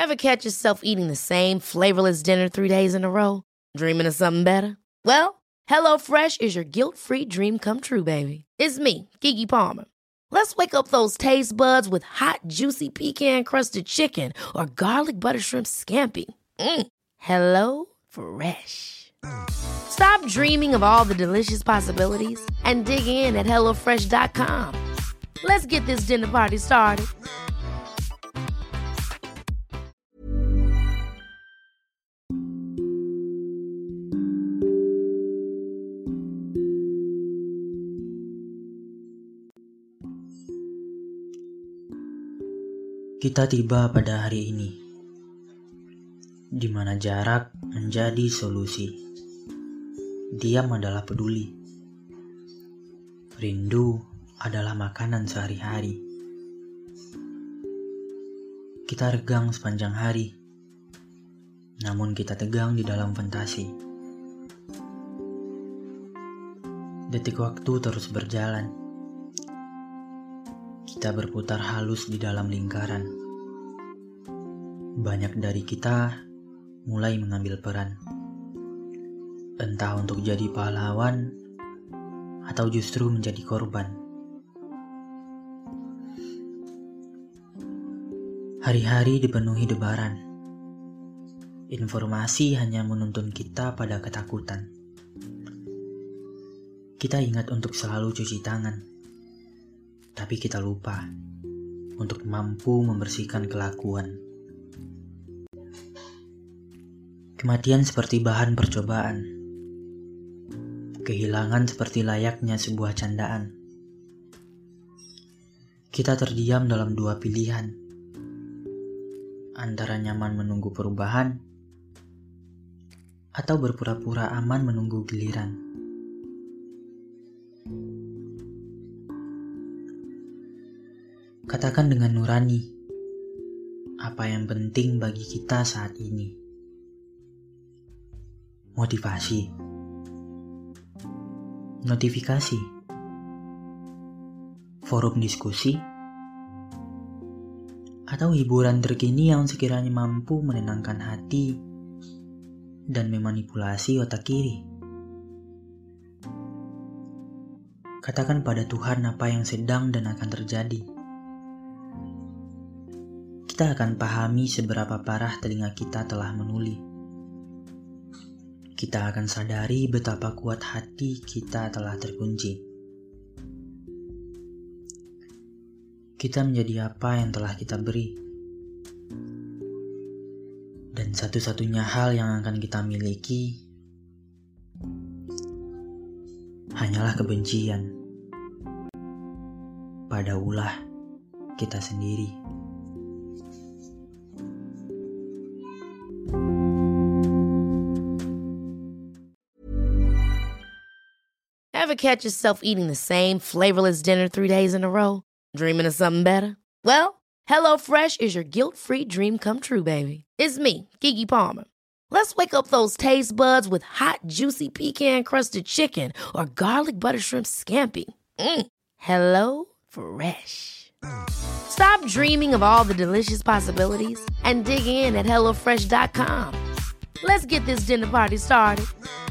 Ever catch yourself eating the same flavorless dinner 3 days in a row? Dreaming of something better? Well, HelloFresh is your guilt-free dream come true, baby. It's me, Keke Palmer. Let's wake up those taste buds with hot, juicy pecan-crusted chicken or garlic butter shrimp scampi. Hello Fresh. Stop dreaming of all the delicious possibilities and dig in at HelloFresh.com. Let's get this dinner party started. Kita tiba pada hari ini, di mana jarak menjadi solusi. Diam adalah peduli. Rindu adalah makanan sehari-hari. Kita regang sepanjang hari, namun kita tegang di dalam fantasi. Detik waktu terus berjalan. Kita berputar halus di dalam lingkaran. Banyak dari kita mulai mengambil peran. Entah untuk jadi pahlawan atau justru menjadi korban. Hari-hari dipenuhi debaran. Informasi hanya menuntun kita pada ketakutan. Kita ingat untuk selalu cuci tangan. Tapi kita lupa untuk mampu membersihkan kelakuan. Kematian seperti bahan percobaan. Kehilangan seperti layaknya sebuah candaan. Kita terdiam dalam dua pilihan. Antara nyaman menunggu perubahan atau berpura-pura aman menunggu giliran. Katakan dengan nurani, apa yang penting bagi kita saat ini? Motivasi, notifikasi, forum diskusi, atau hiburan terkini yang sekiranya mampu menenangkan hati dan memanipulasi otak kiri. Katakan pada Tuhan apa yang sedang dan akan terjadi. Kita akan pahami seberapa parah telinga kita telah menuli. Kita akan sadari betapa kuat hati kita telah terkunci. Kita menjadi apa yang telah kita beri. Dan satu-satunya hal yang akan kita miliki hanyalah kebencian pada ulah kita sendiri. Ever catch yourself eating the same flavorless dinner 3 days in a row? Dreaming of something better? Well, HelloFresh is your guilt-free dream come true, baby. It's me, Keke Palmer. Let's wake up those taste buds with hot, juicy pecan-crusted chicken or garlic butter shrimp scampi. Hello Fresh. Stop dreaming of all the delicious possibilities and dig in at HelloFresh.com. Let's get this dinner party started.